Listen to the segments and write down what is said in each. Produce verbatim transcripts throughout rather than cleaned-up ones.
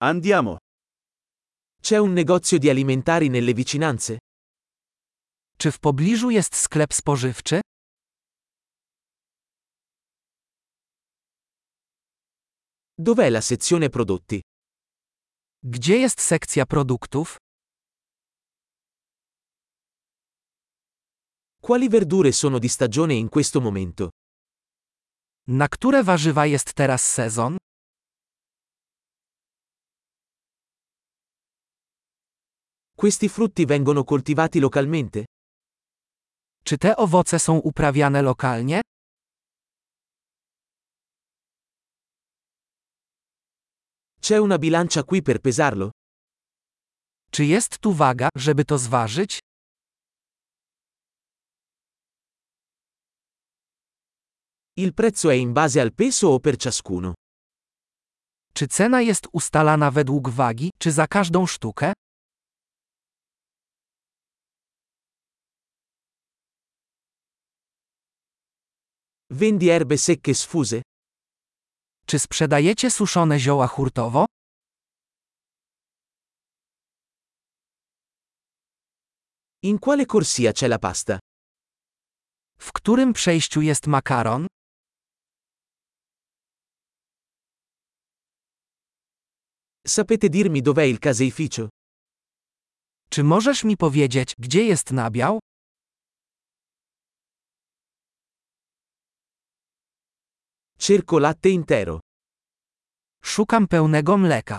Andiamo. C'è un negozio di alimentari nelle vicinanze? Czy w pobliżu jest sklep spożywczy? Dov'è la sezione prodotti? Gdzie jest sekcja produktów? Quali verdure sono di stagione in questo momento? Na które warzywa jest teraz sezon? Questi frutti vengono coltivati localmente? Czy te owoce są uprawiane lokalnie? C'è una bilancia qui per pesarlo? Czy jest tu waga, żeby to zważyć? Il prezzo è in base al peso o per ciascuno? Czy cena jest ustalana według wagi, czy za każdą sztukę? Vendi erbe secche sfuse? Czy sprzedajecie suszone zioła hurtowo? In quale corsia c'è la pasta? W którym przejściu jest makaron? Sapete dirmi dov'è il caseificio? Czy możesz mi powiedzieć, gdzie jest nabiał? Cerco latte intero. Szukam pełnego mleka.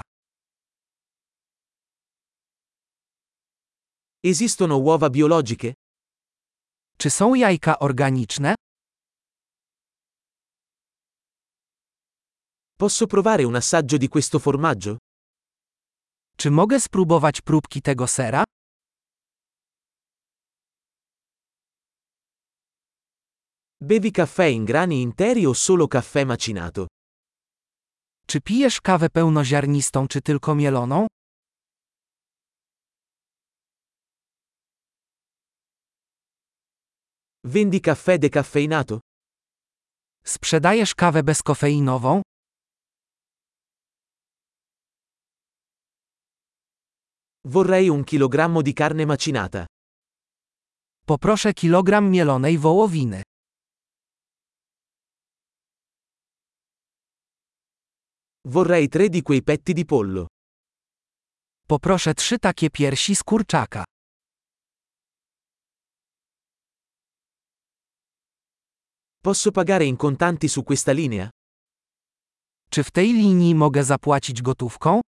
Esistono uova biologiche? Czy są jajka organiczne? Posso provare un assaggio di questo formaggio? Czy mogę spróbować próbki tego sera? Bevi caffè in grani interi o solo caffè macinato? Czy pijesz kawę pełnoziarnistą czy tylko mieloną? Vendi caffè decaffeinato? Sprzedajesz kawę bezkofeinową? Vorrei un chilogrammo di carne macinata. Poproszę kilogram mielonej wołowiny. Vorrei tre di quei petti di pollo. Poproszę trzy takie piersi z kurczaka. Posso pagare in contanti su questa linea? Czy w tej linii mogę zapłacić gotówką?